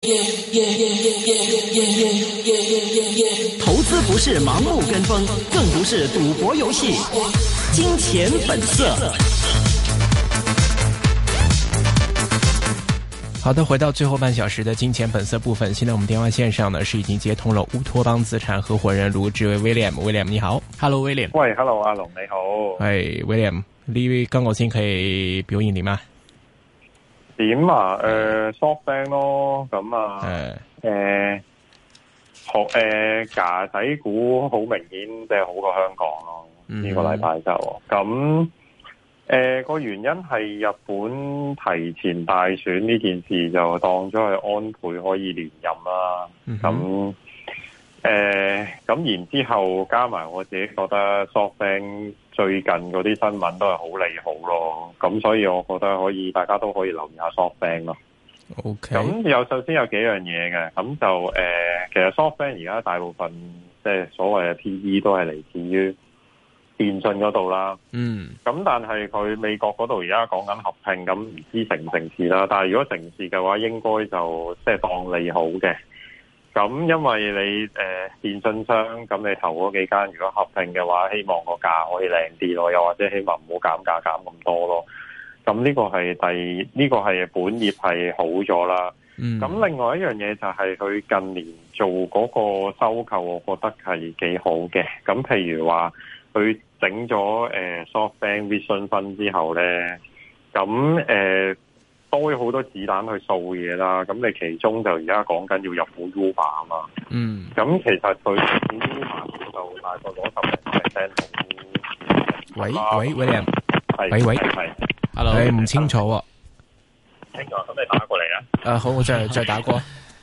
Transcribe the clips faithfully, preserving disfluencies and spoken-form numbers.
投資不是盲目跟風，更不是賭博遊戲。金錢本色。好的，回到最後半小時的金錢本色部分。現在我們電話線上呢是已經接通了烏托邦資產合夥人盧志威 William。William 你好 ，Hello William。 喂 ，Hello 阿龍你好。 喂 William，呢今個星期表現點啊？ 點啊？誒 ，softbank 咯，咁啊，誒、呃，好誒，架仔股好明顯即係好過香港咯。呢、mm-hmm. 個禮拜就咁。誒，個、呃、原因係日本提前大選呢件事就當咗係安倍可以連任啦。咁、mm-hmm. 誒，咁、呃、然之後加埋我自己覺得 SoftBank 最近嗰啲新聞都係好利好咯。咁所以我覺得可以，大家都可以留意下 SoftBank 咯。OK。咁有首先有幾樣嘢嘅，咁就誒、呃，其實 SoftBank 而家大部分即係所謂嘅 P E 都係嚟自於電信嗰度啦，嗯，咁但係佢美國嗰度而家講緊合併，咁唔知成唔成事啦。但係如果成事嘅話，應該就即係當利好嘅。咁因為你誒、呃、電信商，咁你投嗰幾間如果合併嘅話，希望個價可以靚啲咯，又或者希望唔好減價減咁多咯。咁呢個係第呢、這個係本業係好咗啦。咁、嗯、另外一樣嘢就係佢近年做嗰個收購，我覺得係幾好嘅。咁譬如話佢整咗誒 SoftBank Vision Fund 之後咧，咁誒、呃、多咗好多子彈去掃嘢啦。咁你其中就而家講緊要入股 Uber 啊嘛。嗯。咁其實佢入股 Uber 就大概攞十零 percent。喂喂 William，喂喂，係 ，hello， 你唔清楚喎。清楚，咁你打過嚟啊？啊，好，我再再打過。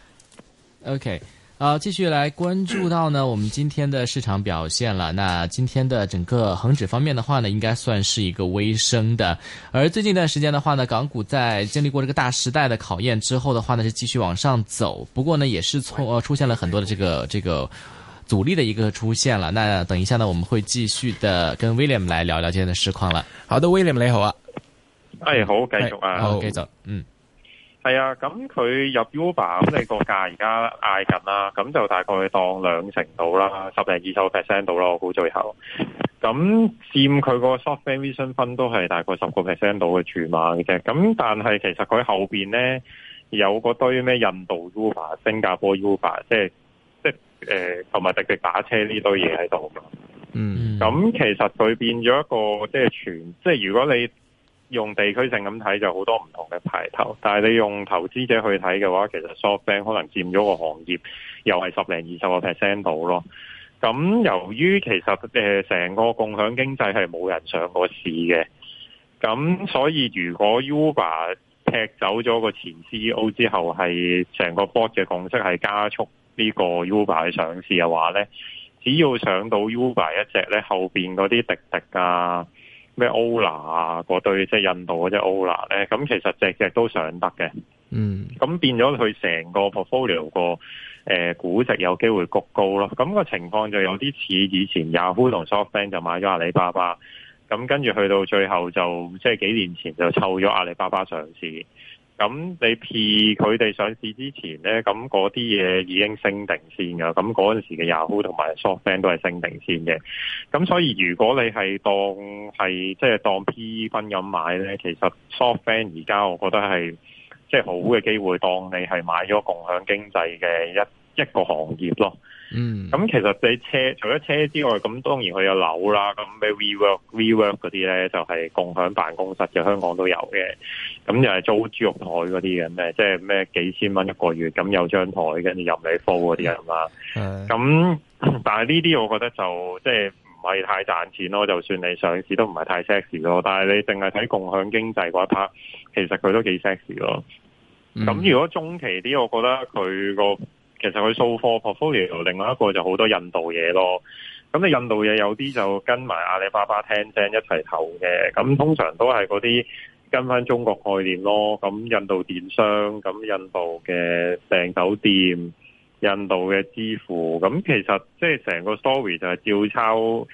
OK。好，繼續來關注到呢，我們今天的市場表現了。那今天的整個恒指方面的話呢，應該算是一個微升的。而最近一段時間的話呢，港股在經歷過這個大時代的考驗之後的話呢，是繼續往上走。不過呢，也是從呃出現了很多的這個這個阻力的一個出現了。那等一下呢，我們會繼續的跟 William 來聊聊今天的市況了。 好的 ，William 你好啊。 哎，好，繼續啊。 好，繼續。嗯。 係啊，咁佢入 Uber， 咁你個價而家嗌緊啦，咁就大概當兩成到啦，十零二十個 percent 到啦，我估最後。咁佔佢個 SoftBank Vision Fund 都係大概十個 percent 到嘅注碼嘅啫。咁但係其實佢後邊咧有個堆咩印度 Uber、新加坡 Uber， 即係即係誒同埋滴滴打車呢堆嘢喺度。嗯。咁其實佢變咗一個即係全，即係如果你用地區性咁睇就好多唔同嘅牌頭，但係你用投資者去睇嘅話，其實 SoftBank 可能佔咗個行業又係十零二十個 percent 度咯。咁由於其實誒成個共享經濟係冇人上過市嘅，咁所以如果 Uber 踢走咗個前 C E O 之後，係成個 board 嘅共識係加速呢個 Uber 去上市嘅話咧，只要上到 Uber 一隻咧，後邊嗰啲滴滴啊，咩 Ola 啊，嗰對即係印度嗰隻 Ola 咧，咁其實隻隻都上得嘅。嗯，咁變咗佢成個 portfolio 個誒估值有機會谷高咯。咁個情況就有啲似以前 Yahoo 同 SoftBank 就買咗阿里巴巴，咁跟住去到最後就即係幾年前就湊咗阿里巴巴上市。咁你 P 佢哋上市之前咧，咁嗰啲嘢已經升定先噶，咁嗰陣時嘅 Yahoo 同埋 SoftBank 都係升定先嘅。咁所以如果你係當係即係當 P E 分咁買咧，其實 SoftBank 而家我覺得係即係好嘅機會，當你係買咗共享經濟嘅一一個行業咯。嗯，咁其實你車除咗車之外，咁當然佢有樓啦，咁咩 WeWork、WeWork 嗰啲咧就係、是、共享辦公室嘅，香港都有嘅。咁又係租豬肉台嗰啲嘅咩，即係咩幾千蚊一個月，咁有張台跟住任你鋪嗰啲人嘛。咁但係呢啲我覺得就即係唔係太賺錢咯，就算你上市都唔係太 sexy 咯。但係你淨係睇共享經濟嗰一 part，其實佢都幾 sexy 咯。咁、嗯、如果中期啲，我覺得佢個其實佢掃貨 portfolio， 另外一個就好多印度嘢咯。咁你印度嘢有啲就跟埋阿里巴巴、Tencent 一齊投嘅，咁通常都係嗰啲跟翻中國概念咯。咁印度電商，咁印度嘅訂酒店，印度嘅支付，咁其實即係成個 story 就係照抄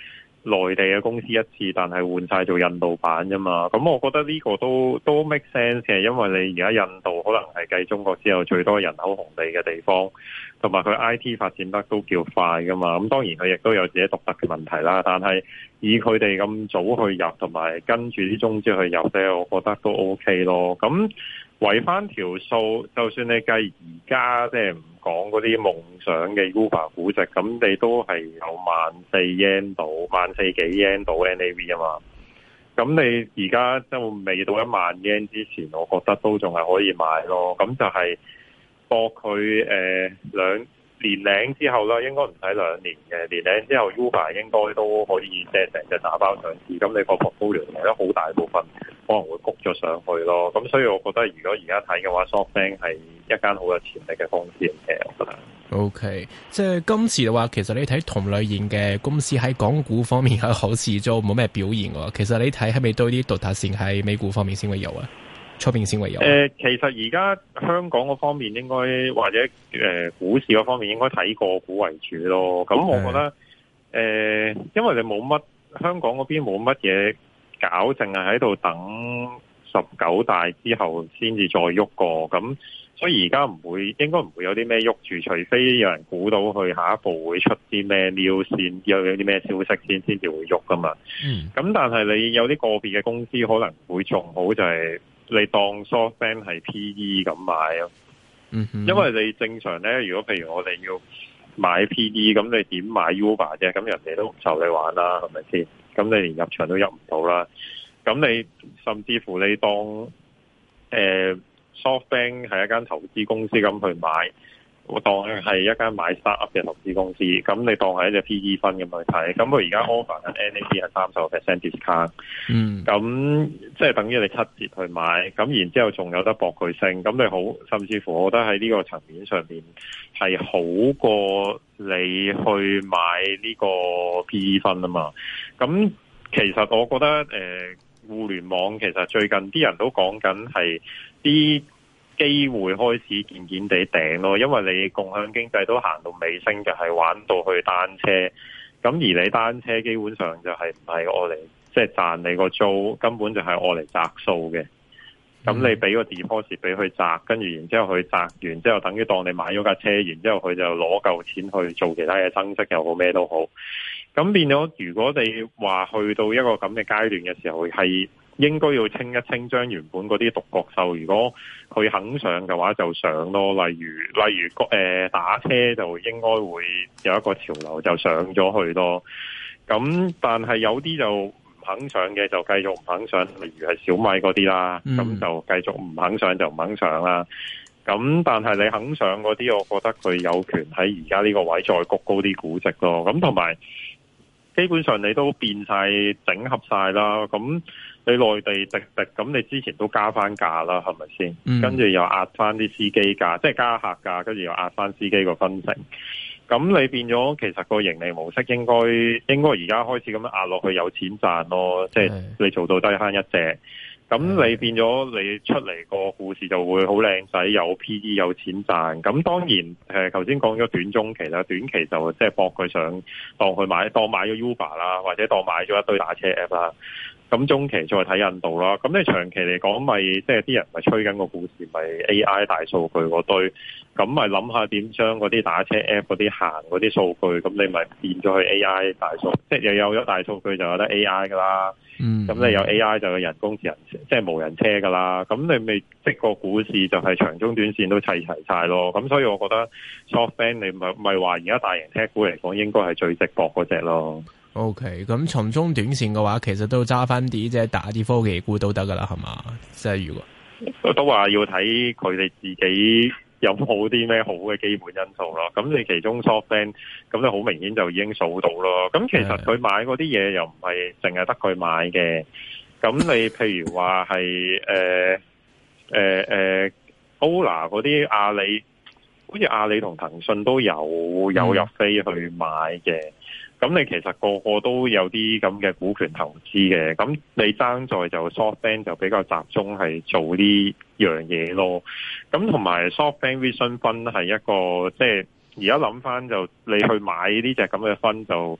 內地嘅公司一次，但係換晒做印度版啫嘛。咁我覺得呢個都都 make sense 嘅，因為你而家印度可能係繼中國之後最多人口紅利嘅地方，同埋佢 I T 發展得都叫快噶嘛。咁當然佢亦都有自己獨特嘅問題啦，但係以佢哋咁早去入，同埋跟住啲中資去入咧，我覺得都 OK 咯。咁圍翻條數，就算你計而家即係唔講嗰啲夢想嘅 Uber 估值，咁你都係有萬四 yen 到，萬四幾 yen 到 N A V 啊嘛。咁你而家就未到一萬 yen 之前，我覺得都仲係可以買咯。咁就係博佢誒兩年零之後啦，應該唔使兩年嘅，年零之後 Uber 應該都可以即係成隻打包上市。咁你個 portfolio 嚟得好大部分可能會谷咗上去咯。咁所以我覺得如果而家睇嘅話 ，SoftBank 係一間好有潛力嘅公司嚟嘅，我覺得。 O、okay. K， 即係今次嘅話，其實你睇同類型嘅公司喺港股方面係好似都冇咩表現喎。其實你睇係咪多啲獨特性喺美股方面先會有啊？出邊先會有？誒、 呃，其實而家香港嗰方面應該或者誒、呃、股市嗰方面應該睇個股為主咯。咁我覺得誒、呃，因為你冇乜香港嗰邊冇乜嘢搞，淨係喺度等十九大之後先至再喐過。咁所以而家唔會，應該唔會有啲咩喐住，除非有人估到佢下一步會出啲咩 news 先，有有啲咩消息先，先至會喐噶嘛。嗯。咁但係你有啲個別嘅公司可能會仲好，就係、是。你當 SoftBank 係 P E 咁買咯，嗯哼，因為你正常咧，如果譬如我哋要買 P E，咁你點買 Uber 啫？咁人哋都唔受你玩啦，係咪先？咁你連入場都入唔到啦。咁你甚至乎你當誒、呃、SoftBank 係一間投資公司咁去買，我當係一間買 startup 嘅投資公司，咁你當係一隻 P E 分咁去睇，咁佢而家 offer 緊 N A V 係三十個 percent discount，嗯，咁即係等於你七折去買，咁然之後仲有得博佢升，咁你好，甚至乎我覺得喺呢個層面上面係好過你去買呢個 P E 分啊嘛，咁其實我覺得誒、呃，互聯網其實最近啲人都講緊係啲機會開始漸漸地頂咯，因為你共享經濟都行到尾聲，就係、是、玩到去單車。咁而你單車基本上就係唔係我嚟即係賺你個租，根本就係我嚟摘數嘅。咁你俾個 deposit 俾佢摘，跟住然之後佢摘完之後，等於當你買咗架車，然之後佢就攞夠錢去做其他嘢增值又好咩都好。咁變咗，如果你話去到一個咁嘅階段嘅時候，係應該要清一清，將原本嗰啲獨角獸，如果佢肯上嘅話就上咯。例如例如誒、呃、打車就應該會有一個潮流就上咗去咯。咁但係有啲就唔肯上嘅就繼續唔肯上，例如係小米嗰啲啦，咁、嗯、就繼續唔肯上就唔肯上啦。咁但係你肯上嗰啲，我覺得佢有權喺而家呢個位再谷高啲估值咯。咁同埋基本上你都變晒整合晒啦，咁你內地滴滴咁，你之前都加翻價啦，係咪先？嗯、跟住又壓翻啲司機價，即係加客價，跟住又壓翻司機個分成。咁你變咗，其實個盈利模式應該應該而家開始咁樣壓落去，有錢賺咯。即係你做到低慳一隻，咁你變咗你出嚟個故事就會好靚仔，有 P E 有錢賺。咁當然誒，頭先講咗短中期啦，短期就即係博佢上當佢買當買咗 Uber 啦，或者當買咗一堆打車 app 啦。咁中期再睇印度啦，咁你長期嚟講咪即係啲人咪吹緊個故事，咪 A I 大數據嗰堆，咁咪諗下點將嗰啲打車 app 嗰啲行嗰啲數據，咁你咪變咗去 A I 大數，即係又有咗大數據就有得 A I 噶啦，嗯，咁你有 A I 就有人工智能，即係無人車噶啦，咁你咪即個股市就係長中短線都砌齊晒咯，咁所以我覺得 SoftBank 你咪咪話而家大型車股嚟講應該係最值博嗰隻咯。 O K，咁從中短線嘅話，其實都揸翻啲即係大啲科技股都得噶啦，係嘛？即係如果都話要睇佢哋自己有冇啲咩好嘅基本因素咯。咁你其中 SoftBank 咁你好明顯就已經數到咯。咁其實佢買嗰啲嘢又唔係淨係得佢買嘅。咁你譬如話係誒誒誒 Ola 嗰啲阿里，好似阿里同騰訊都有有入飛去買嘅。咁你其實個個都有啲咁嘅股權投資嘅，咁你爭在就 SoftBank 就比較集中係做呢樣嘢咯。咁同埋 SoftBank Vision Fund係一個即係而家諗翻就你去買呢隻咁嘅分就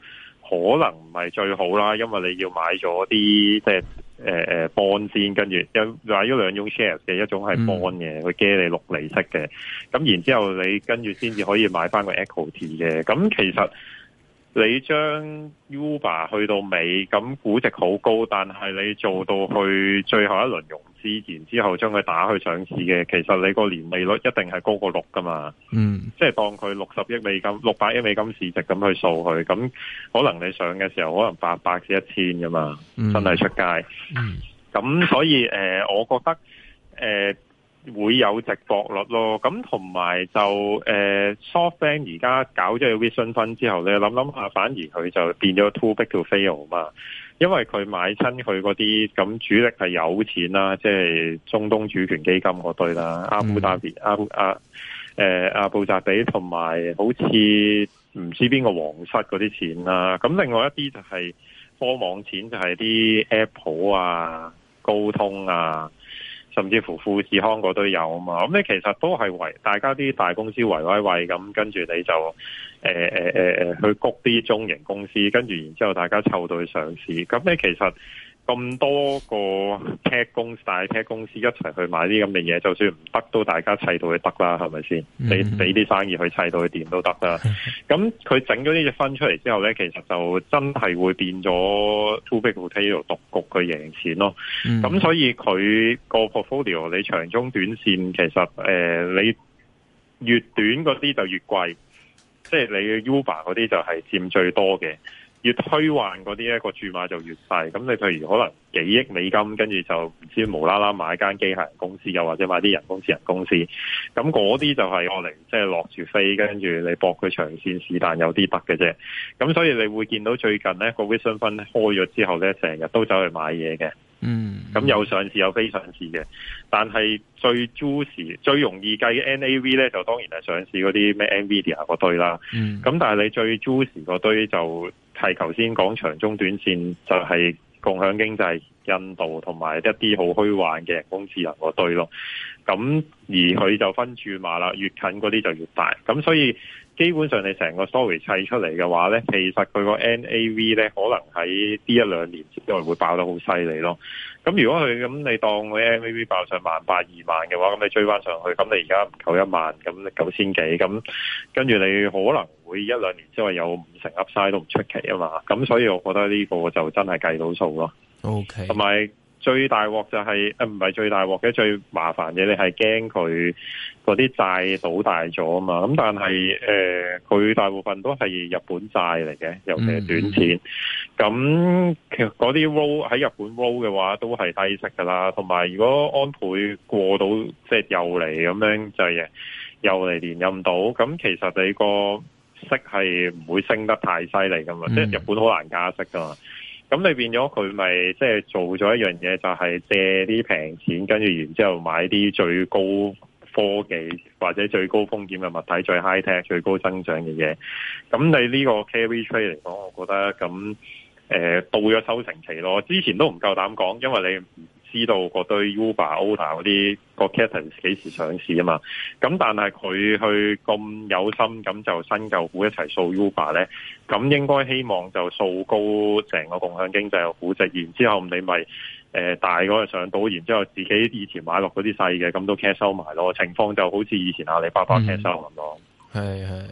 可能唔係最好啦，因為你要買咗啲即係誒誒 bond 先，跟住有買咗兩種 shares 嘅，一種係 bond 嘅，佢借你六厘息嘅，咁然之後你跟住先至可以買翻個 equity 嘅。咁其實你將 Uber 去到尾，咁估值好高，但係你做到去最後一輪融資，然之後將佢打去上市嘅，其實你個年利率一定係高過六噶嘛。嗯，即係當佢六十億美金、六百億美金市值咁去掃佢，咁可能你上嘅時候可能八百至一千噶嘛，嗯、真係出街。嗯，咁所以誒、呃，我覺得誒。呃會有值博率咯，咁同埋就誒、呃、SoftBank 而家搞咗個 Vision Fund 之後咧，諗諗下反而佢就變咗 too big to fail 嘛，因為佢買親佢嗰啲咁主力係有錢啦，即係中東主權基金嗰堆啦，阿布達比、阿布阿誒阿布扎比同埋好似唔知邊個皇室嗰啲錢啦，咁另外一啲就係科網錢，就係啲 Apple 啊、高通啊。甚至乎富士康嗰堆有啊嘛，咁你其實都係為大家啲大公司圍威喂咁，跟住你就誒誒誒誒去谷啲中型公司，跟住然之後大家湊到去上市，咁你其實咁多個 tech 公司、大 tech 公司一齊去買啲咁嘅嘢，就算唔得都大家砌到佢得啦，係咪先？你俾啲生意去砌到佢掂都得啦。咁佢整咗呢隻分出嚟之後咧，其實就真係會變咗 too big to fail 獨局佢贏錢咯。咁、嗯、所以佢個 portfolio 你長中短線其實誒、呃、你越短嗰啲就越貴，即係你 Uber 嗰啲就係佔最多嘅。越虛幻嗰啲咧個注碼就越細，咁你譬如可能幾億美金，跟住就唔知無啦啦買間機械人公司，又或者買啲人工智能公司，咁嗰啲就係我嚟即係落住飛，跟住你搏佢長線是但有啲得嘅啫。咁所以你會見到最近咧個 Vision Fund 開咗之後咧，成日都走去買嘢嘅。嗯，咁有上市有非上市嘅，但係最 juicy 最容易計嘅 N A V 咧，就當然係上市嗰啲咩 Nvidia 嗰堆啦。嗯，咁但係你最 juicy 嗰堆就係頭先講長中短線，就係共享經濟、印度同埋一啲好虛幻嘅人工智能嗰堆咯。咁而佢就分注碼啦，越近嗰啲就越大。咁所以基本上你成個 story 砌出嚟嘅話咧，其實佢個 N A V 咧可能喺呢一兩年之內會爆得好犀利咯。咁如果佢咁你當佢 N A V 爆上萬八二萬嘅話，咁你追翻上去，咁你而家唔夠一萬，咁你九千幾，咁跟住你可能會一兩年之內有五成 Upside 都唔出奇啊嘛。咁所以我覺得呢個就真係計到數咯。OK，同埋最大鑊就係誒唔係最大鑊嘅，最麻煩嘅你係驚佢嗰啲債倒大咗啊嘛，咁但係誒佢大部分都係日本債嚟嘅，尤其係短錢。咁其實嗰啲 roll 喺日本 roll 嘅話都係低息噶啦，同埋如果安倍過到即係又嚟咁樣就係又嚟連任到，咁其實你個息係唔會升得太犀利噶嘛，嗯、即係日本好難加息噶嘛。咁你變咗佢咪即係做咗一樣嘢，就係借啲平錢，跟住然之後買啲最高科技或者最高風險嘅物體，最 high tech、最高增長嘅嘢。咁你呢個 carry trade 嚟講，我覺得咁誒、呃、到咗收成期咯。之前都唔夠膽講，因為你唔知道嗰堆 Uber、Oda 嗰啲個 catalyst 幾時上市啊嘛。咁但係佢去咁有心咁就新舊股一齊掃 Uber 咧，咁應該希望就掃高成個共享經濟嘅估值，然之後你咪誒、呃、大嗰個上到，然之後自己以前買落嗰啲細嘅，咁都 cash 收埋咯。情況就好似以前阿里巴巴 cash 收咁咯。係係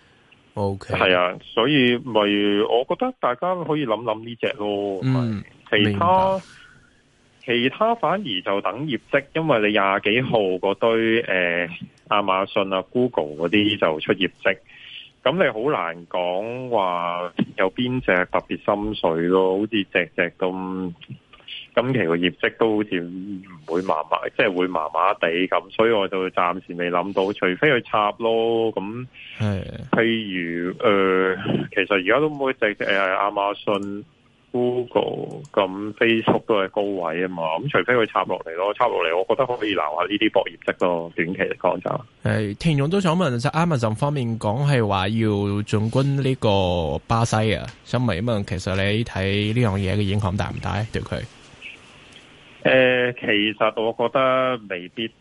，OK，係啊，所以咪我覺得大家可以諗諗呢隻咯。嗯，其他。其他反而就等業績，因為你廿幾號嗰堆誒亞馬遜啊、Google 嗰啲就出業績，咁你好難講話有邊隻特別心水咯，好似隻隻咁今期個業績都好似唔會麻麻，即係會麻麻地咁，所以我就暫時未諗到，除非佢插咯。咁譬如誒、呃，其實而家都冇隻誒亞馬遜。Google 咁 Facebook 都係高位啊嘛，咁除非佢插落嚟咯，插落嚟我覺得可以留下呢啲博業績咯，短期嚟講就係。聽眾都想問，就 Amazon 方面講係話要進軍呢個巴西啊，想問一問，其實你睇呢樣嘢嘅影響大唔大對佢？誒、呃，其實我覺得未必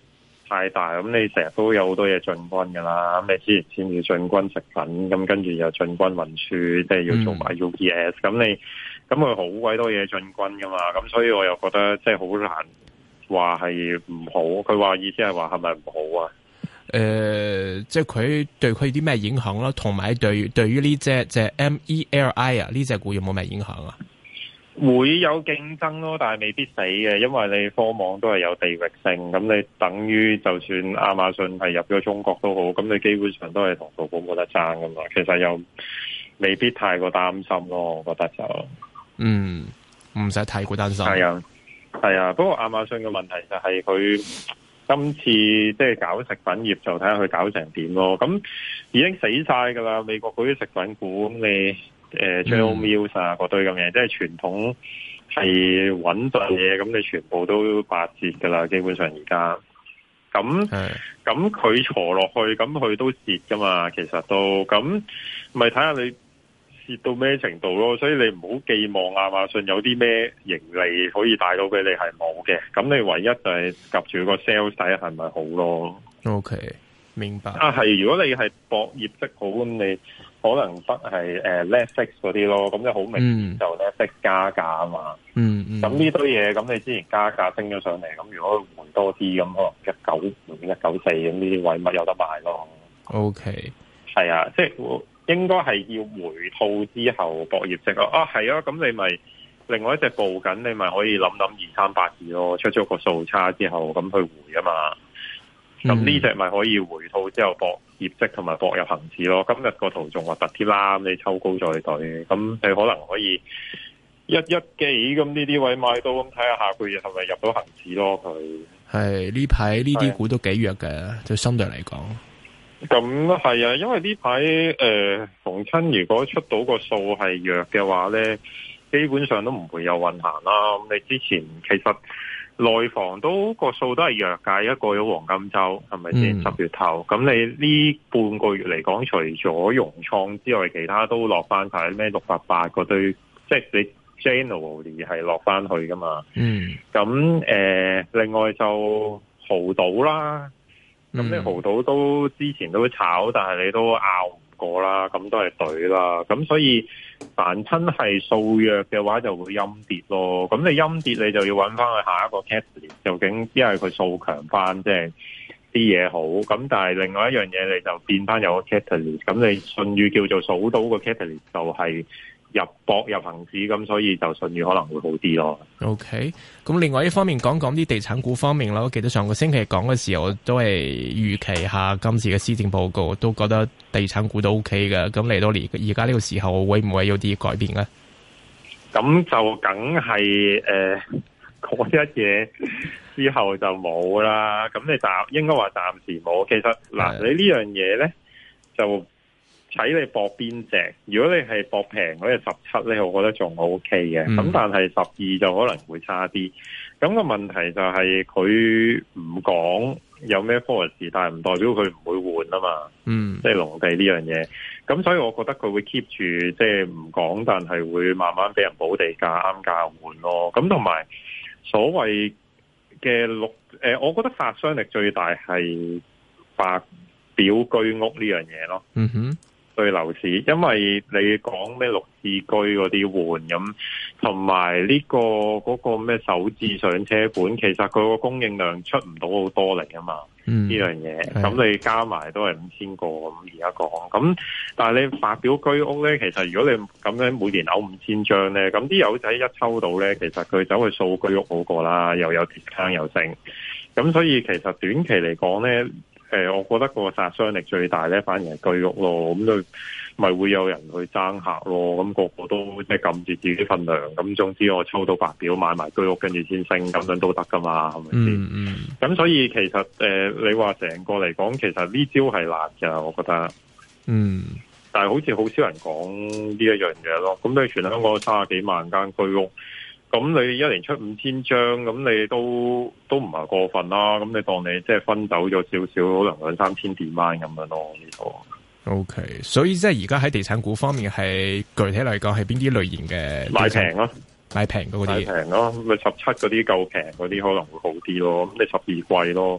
太大，咁你成日都有好多嘢進軍噶啦。咁你之前先要進軍食品，咁跟住又進軍運輸，即係要做埋 U P S，咁、嗯、你咁佢好鬼多嘢進軍噶嘛。咁所以我又覺得即係好難話係唔好。佢話意思係話係咪唔好啊？ 誒、呃，即係佢對佢啲咩影響啦？同埋對對於呢隻即係 M E L I 啊呢隻股有冇咩影響啊？ 會有競爭咯，但係未必死嘅，因為你科網都係有地域性，咁你等於就算亞馬遜係入咗中國都好，咁你基本上都係同淘寶冇得爭噶嘛。其實又未必太過擔心咯，我覺得就嗯唔使太過擔心。 係啊，係啊。不過亞馬遜嘅問題就係佢今次即係搞食品業，就睇下佢搞成點咯。咁已經死晒噶啦，美國嗰啲食品股，咁你。誒 General Mills 啊，嗰堆咁嘢，即係傳統係穩陣嘢，咁你全部都八折噶啦，基本上而家。咁咁佢坐落去，咁佢都蝕噶嘛，其實都咁，咪睇下你蝕到咩程度咯。所以你唔好寄望亞馬遜有啲咩盈利可以帶到俾你，係冇嘅。咁你唯一就係及住個 sales 睇係咪好咯。 OK，明白。 啊，係如果你係博業績好，咁你。可能得係誒 Netflix 嗰啲咯，咁就好明顯就 Netflix 加價啊嘛。 嗯嗯。 咁呢堆嘢，咁你之前加價升咗上嚟，咁如果回多啲，咁可能一九一九四咁呢啲位咪有得賣咯。 OK， 係啊，即係應該係要回吐之後博業績咯。啊，係啊，咁你咪另外一隻報緊，你咪可以諗諗二三八二咯，出咗個數差之後咁去回啊嘛。咁呢隻咪可以回吐之後博業績同埋博入恒指咯。今日個圖仲核突啲啦，你抽高再對，咁你可能可以一一幾咁呢啲位買到，咁睇下下個月係咪入到恒指咯。佢係呢排呢啲股都幾弱嘅，就相對嚟講。 咁係啊，因為呢排誒逢親如果出到個數係弱嘅話咧，基本上都唔會有運行啦。咁你之前其實。內房都個數都係弱㗎，一過咗黃金週係咪先？十月頭咁你呢半個月嚟講，除咗融創之外，其他都落翻晒咩六八八嗰堆，即係你 generally 係落翻去㗎嘛。嗯。咁誒、呃，另外就豪賭啦，咁你豪賭都之前都炒，但係你都拗唔過啦，咁都係隊啦，咁所以。凡親係數弱嘅話就會陰跌咯，咁你陰跌你就要揾翻去下一個 catalyst，究竟因為佢數強翻，即係啲嘢好，咁但係另外一樣嘢你就變翻有個 catalyst，咁你信譽叫做數到個 catalyst 就係入博入恒指，咁所以就信譽可能會好啲咯。OK， 咁另外一方面講講啲地產股方面啦，我記得上個星期講嘅時候都係預期下今次嘅施政報告，都覺得地產股都 OK 嘅。咁嚟到而而家呢個時候，會唔會有啲改變咧？ 咁就梗係誒嗰一嘢之後就冇啦。咁你暫應該話暫時冇。其實嗱，你呢樣嘢咧就。睇你搏邊隻，如果你係搏平嗰隻十七咧，我覺得仲 O K 嘅。咁、嗯、但係十二就可能會差啲。咁、個問題就係佢唔講有咩 policy，但係唔代表佢唔會換啊嘛。嗯，即係農地呢樣嘢。咁所以我覺得佢會 keep 住即係唔講，但係會慢慢俾人補地價啱價換咯。咁同埋所謂嘅綠誒，我覺得殺傷力最大係白表居屋呢樣嘢咯。嗯哼。對樓市，因為你講咩綠置居嗰啲換咁，同埋呢個嗰、嗰個咩首置上車盤，其實佢個供應量出唔到好多嚟啊嘛。嗯，呢樣嘢，咁你加埋都係五千個咁而家講，咁但係你白表居屋咧，其實如果你咁樣每年嘔五千張咧，咁啲友仔一抽到咧，其實佢走去掃居屋好過啦，又有 discount 又升，咁所以其實短期嚟講咧。誒、呃，我覺得個殺傷力最大咧，反而係居屋咯，咁就咪會有人去爭客咯，咁、那個個都即係撳住自己份糧，咁總之我抽到白表買埋居屋，跟住先升，咁樣都得噶嘛，係咪先？嗯嗯。咁所以其實誒、呃，你話成個嚟講，其實呢招係辣㗎，我覺得。嗯。但係好似好少人講呢一樣嘢咯，咁你全香港三十幾萬間居屋。咁你一年出五千張，咁你都都唔係過分啦。咁你當你即係分走咗少少，可能兩三千點蚊咁樣咯。呢個 OK，所以即係而家喺地產股方面係具體嚟講係邊啲類型嘅買平咯， 買平嗰啲， 買平咯。咪十七嗰啲夠平嗰啲可能會好啲咯。咁你十二貴咯。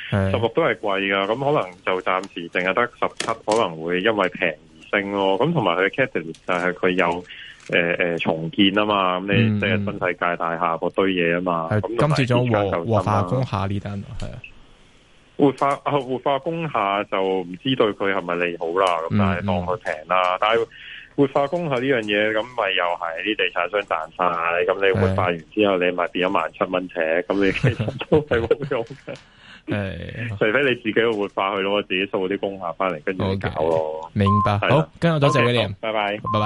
十六都係貴噶，咁可能就暫時淨係得十七，可能會因為平而升咯。咁同埋佢嘅 catalyst 就係佢有誒誒、呃、重建啊嘛，咁你即係新世界大廈嗰堆嘢啊嘛。咁今次仲活活化工廈呢單係啊， 活化啊活化工廈就唔知對佢係咪利好啦。咁但係當佢平啦，但係。活化工廈呢樣嘢，咁咪又係啲地產商賺晒，咁你活化完之後，你咪變咗萬七蚊尺，咁你其實都係冇用嘅。誒，除非你自己去活化去咯，自己掃啲工廈翻嚟，跟住搞咯。 明白，好，跟住多謝 William， 拜拜， 拜拜。